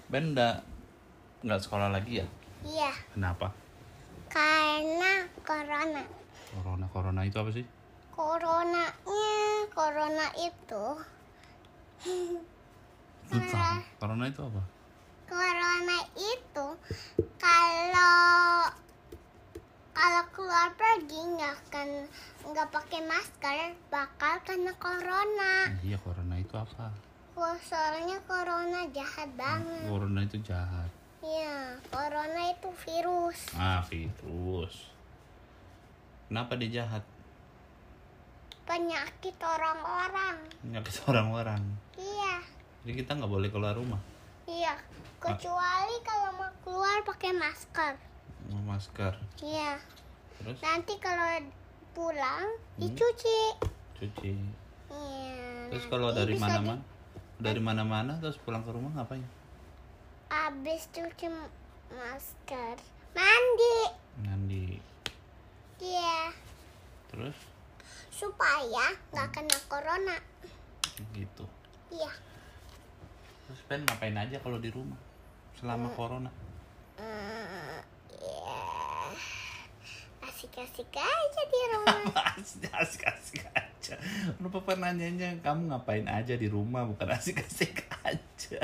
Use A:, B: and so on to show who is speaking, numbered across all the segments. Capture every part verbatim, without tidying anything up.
A: Ben udah nggak sekolah lagi ya?
B: Iya.
A: Kenapa?
B: Karena corona.
A: Corona, corona itu apa sih?
B: Coronanya, corona itu.
A: Susah. Corona itu apa?
B: Corona itu kalau kalau keluar pergi nggak akan nggak pakai masker bakal kena corona.
A: Iya, corona itu apa?
B: Wah, soalnya corona jahat banget.
A: Corona itu jahat.
B: Iya, corona itu virus.
A: Ah, virus. Kenapa dia jahat?
B: Penyakit orang-orang.
A: Penyakit orang-orang.
B: Iya.
A: Jadi kita nggak boleh keluar rumah.
B: Iya, kecuali kalau mau keluar pakai masker.
A: Mau masker.
B: Iya.
A: Terus?
B: Nanti kalau pulang
A: Hmm.
B: dicuci.
A: Cuci.
B: Iya.
A: Terus kalau
B: nanti
A: dari
B: bisa
A: mana-mana,
B: di-
A: dari mana-mana terus pulang ke rumah ngapain?
B: Abis cuci masker, mandi.
A: Mandi.
B: Iya.
A: Terus?
B: Supaya nggak kena corona.
A: Gitu.
B: Iya.
A: Terus Ben ngapain aja kalau di rumah selama corona?
B: Hmm, iya. Asik-asik aja di rumah.
A: Asik-asik aja. Lu papa nanyanya kamu ngapain aja di rumah, bukan asik-asik aja.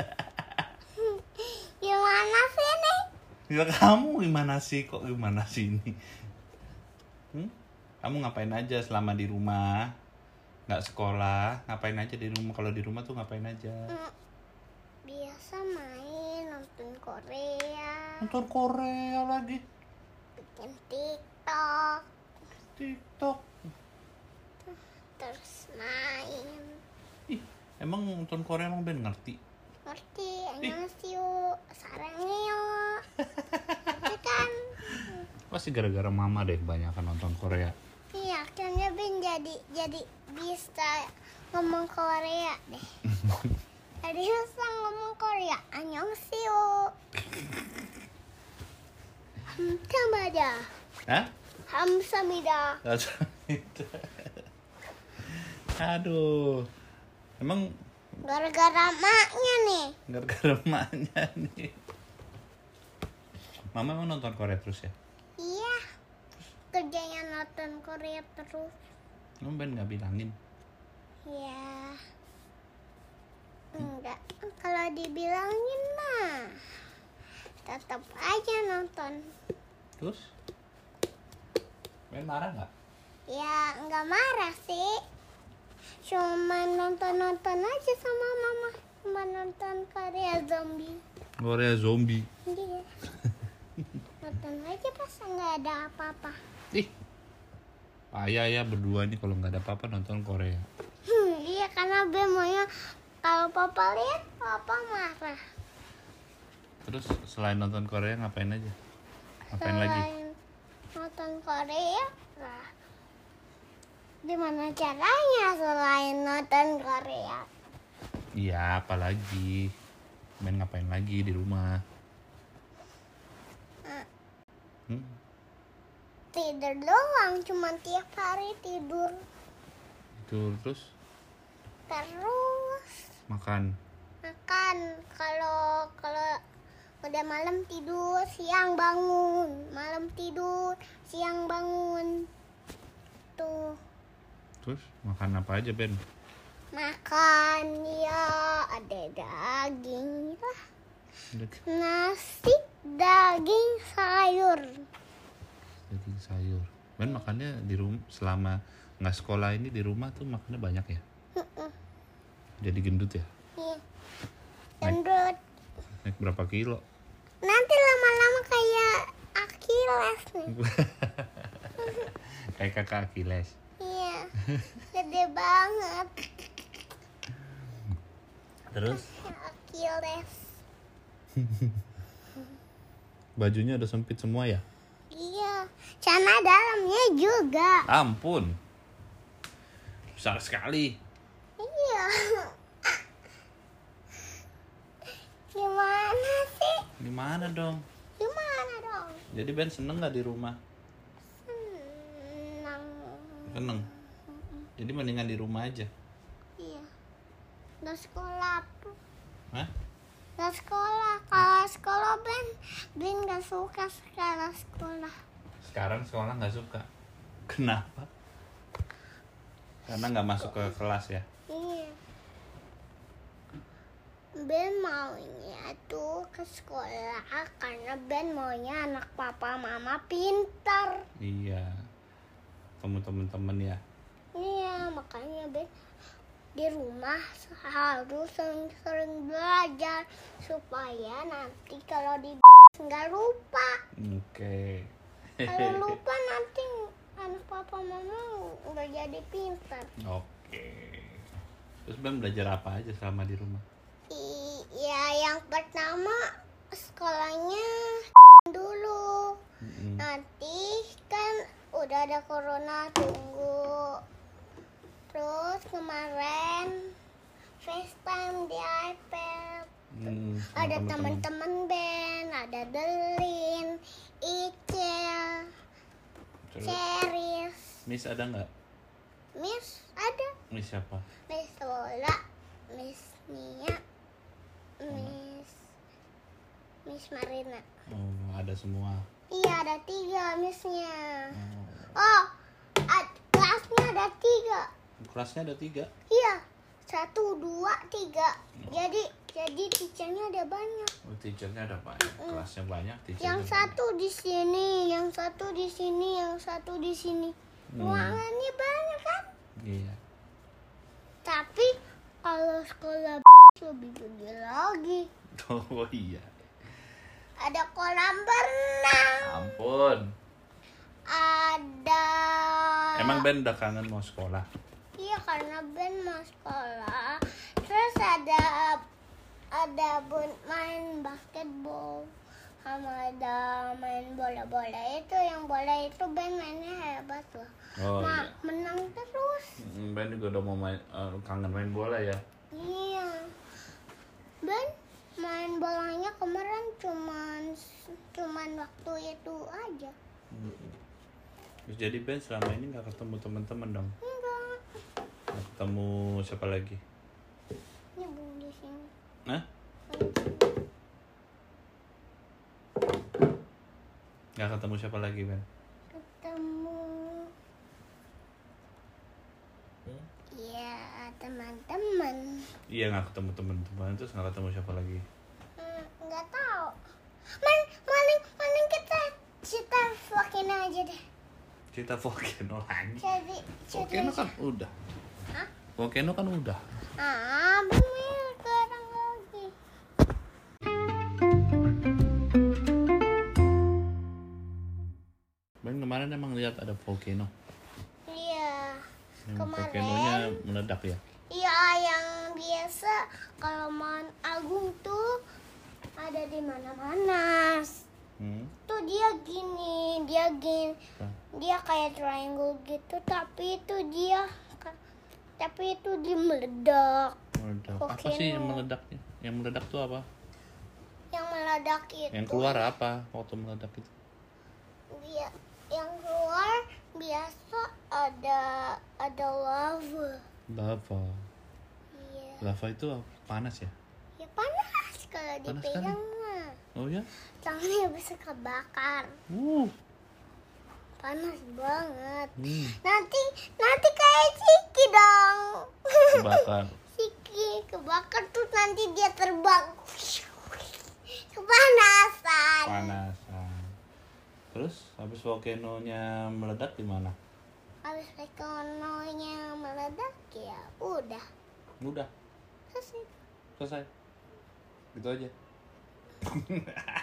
B: Gimana sih nih?
A: Ya kamu gimana sih, kok gimana sih ini? Hmm? Kamu ngapain aja selama di rumah? Nggak sekolah, ngapain aja di rumah? Kalau di rumah tuh ngapain aja?
B: Hmm, biasa main, nonton Korea,
A: Nonton Korea lagi,
B: bikin TikTok,
A: TikTok.
B: terus main.
A: Ih, emang nonton Korea emang Ben ngerti?
B: Ngerti, annyeonghaseyo, sarangnya. Itu kan.
A: Pasti gara-gara mama deh kebanyakan nonton Korea.
B: Iya, akhirnya Ben jadi jadi bisa ngomong Korea deh. Jadi bisa ngomong Korea, annyeonghaseyo. Hamsamida.
A: Hah?
B: Hamsamida.
A: Aduh, emang
B: Gara-gara maknya nih.
A: gara-gara emaknya nih. Mama emang nonton Korea terus ya?
B: Iya. Kerjanya nonton Korea terus.
A: Emang Ben nggak bilangin?
B: Ya. Enggak. Kalau dibilangin mah tetap aja nonton.
A: Terus? Ben marah nggak?
B: Ya enggak marah sih. Cuma nonton-nonton aja sama mama. Cuma nonton Korea zombie.
A: Korea zombie.
B: Iya. Nonton aja pas nggak ada apa-apa.
A: Ih, payah ya berdua nih kalau nggak ada apa-apa nonton Korea.
B: Hmm, iya karena bemonya kalau papa lihat papa marah.
A: Terus selain nonton Korea ngapain aja? Ngapain
B: Selain
A: lagi?
B: nonton Korea, lah. Gimana caranya selain nonton Korea?
A: Iya, apalagi? Ben ngapain lagi di rumah? Hmm?
B: Tidur doang, cuma tiap hari tidur.
A: Tidur terus
B: Terus
A: makan.
B: makan. Kalau kalau udah malam tidur, siang bangun. Malam tidur, siang bangun. Tuh.
A: Terus makan apa aja Ben?
B: Makan ya ada daging lah. Nasi, daging, sayur.
A: Daging sayur. Ben makannya di rumah selama nggak sekolah ini di rumah tuh makannya banyak ya? Jadi gendut ya?
B: Iya.
A: Naik,
B: Gendut.
A: naik berapa kilo?
B: Nanti lama-lama kayak Achilles nih.
A: Kayak kakak Achilles.
B: Iya. Gede banget.
A: Terus
B: Achilles.
A: bajunya udah sempit semua ya?
B: Iya. Celana dalamnya juga.
A: Ampun. Besar sekali.
B: Iya. Gimana sih?
A: Gimana dong?
B: Gimana dong?
A: Jadi Ben seneng nggak di rumah?
B: Senang.
A: Seneng. Jadi mendingan di rumah aja.
B: Iya. Udah sekolah.
A: Hah?
B: Nggak sekolah. Kalau sekolah Ben, Ben nggak suka sekarang sekolah.
A: Sekarang sekolah nggak suka. Kenapa? Karena nggak masuk ke kelas ya.
B: Iya. Ben maunya tuh ke sekolah karena Ben maunya anak papa mama pintar.
A: Iya. Kamu temen-temen ya.
B: Iya, makanya Ben di rumah harus sering-sering belajar supaya nanti kalau di nggak lupa.
A: Oke.
B: Kalau lupa nanti anak papa mama nggak jadi pintar.
A: Oke. Terus Ben belajar apa aja selama di rumah?
B: Iya, yang pertama sekolahnya dulu.
A: Mm-mm.
B: Nanti kan udah ada corona, tunggu. Terus kemarin FaceTime di iPad.
A: Hmm, sama
B: Ada
A: teman-teman.
B: teman-teman Ben, ada Delin, Icel,
A: Terus,
B: Ceris,
A: Miss ada nggak?
B: Miss ada,
A: Miss siapa?
B: Miss Lola, Miss Nia, Miss Miss Marina.
A: Oh, ada semua.
B: Iya, ada tiga Missnya.
A: Oh.
B: Oh, ad- kelasnya ada tiga.
A: Kelasnya ada tiga.
B: Iya, satu, dua, tiga. Jadi, jadi teachernya ada banyak.
A: Oh, teachernya ada banyak. Kelasnya banyak. Teachernya
B: Yang
A: banyak.
B: satu di sini, yang satu di sini, yang satu di sini.
A: Hmm.
B: Ruangannya banyak kan?
A: Iya.
B: Tapi kalau sekolah lebih gede lagi.
A: Oh iya.
B: Ada kolam berenang.
A: Ampun.
B: Ada.
A: Emang Ben udah kangen mau sekolah?
B: Iya, karena Ben mau sekolah. Terus ada ada bun- main basketball. Sama ada main bola-bola itu. Yang bola itu Ben mainnya hebat loh.
A: Oh
B: Ma-
A: iya.
B: menang terus.
A: Hmm, Ben juga udah mau main, eh, kangen main bola ya.
B: Iya. Ben main bolanya kemarin cuman cuman waktu itu aja.
A: Terus jadi Ben selama ini nggak ketemu teman-teman dong?
B: Enggak.
A: Nggak ketemu siapa lagi?
B: Ini belum di sini.
A: Hah? Nggak ketemu siapa lagi Ben?
B: Ketemu. Iya, teman-teman.
A: Iya nggak ketemu teman-teman, terus nggak ketemu siapa lagi?
B: Hmm, nggak tahu. Man, maling, maling kita kita volcano aja deh.
A: Cerita volcano lagi.
B: Jadi,
A: Volcano
B: jadi.
A: kan udah.
B: Hah?
A: Volcano kan udah.
B: Ah, bener sekarang lagi.
A: Ben kemarin emang lihat ada volcano.
B: Iya.
A: Yang
B: Kemarin.
A: volcanonya meledak ya.
B: Iya, yang biasa kalau Mount Agung tuh ada di mana-mana.
A: Hmm.
B: Tuh dia gini, dia gini,
A: Apa?
B: dia kayak triangle gitu, tapi itu dia, tapi itu dia meledak.
A: Meledak. Apa sih yang meledaknya? Yang meledak tuh apa?
B: Yang meledak itu.
A: Yang keluar apa waktu meledak itu?
B: Dia, yang keluar biasa ada ada lava.
A: Lava.
B: Iya.
A: Lava itu panas ya?
B: Ya panas kalau
A: Panas
B: dipegang mah.
A: Oh ya?
B: Tangannya bisa kebakar.
A: Uh.
B: Panas banget.
A: Hmm.
B: Nanti nanti kayak Ciki dong.
A: Kebakar.
B: Ciki kebakar tuh nanti dia terbang. Kepanasan.
A: Panasan. Terus habis volcanonya meledak di mana?
B: Habis ekonominya meledak ya udah
A: Udah,
B: selesai.
A: selesai. Gitu aja.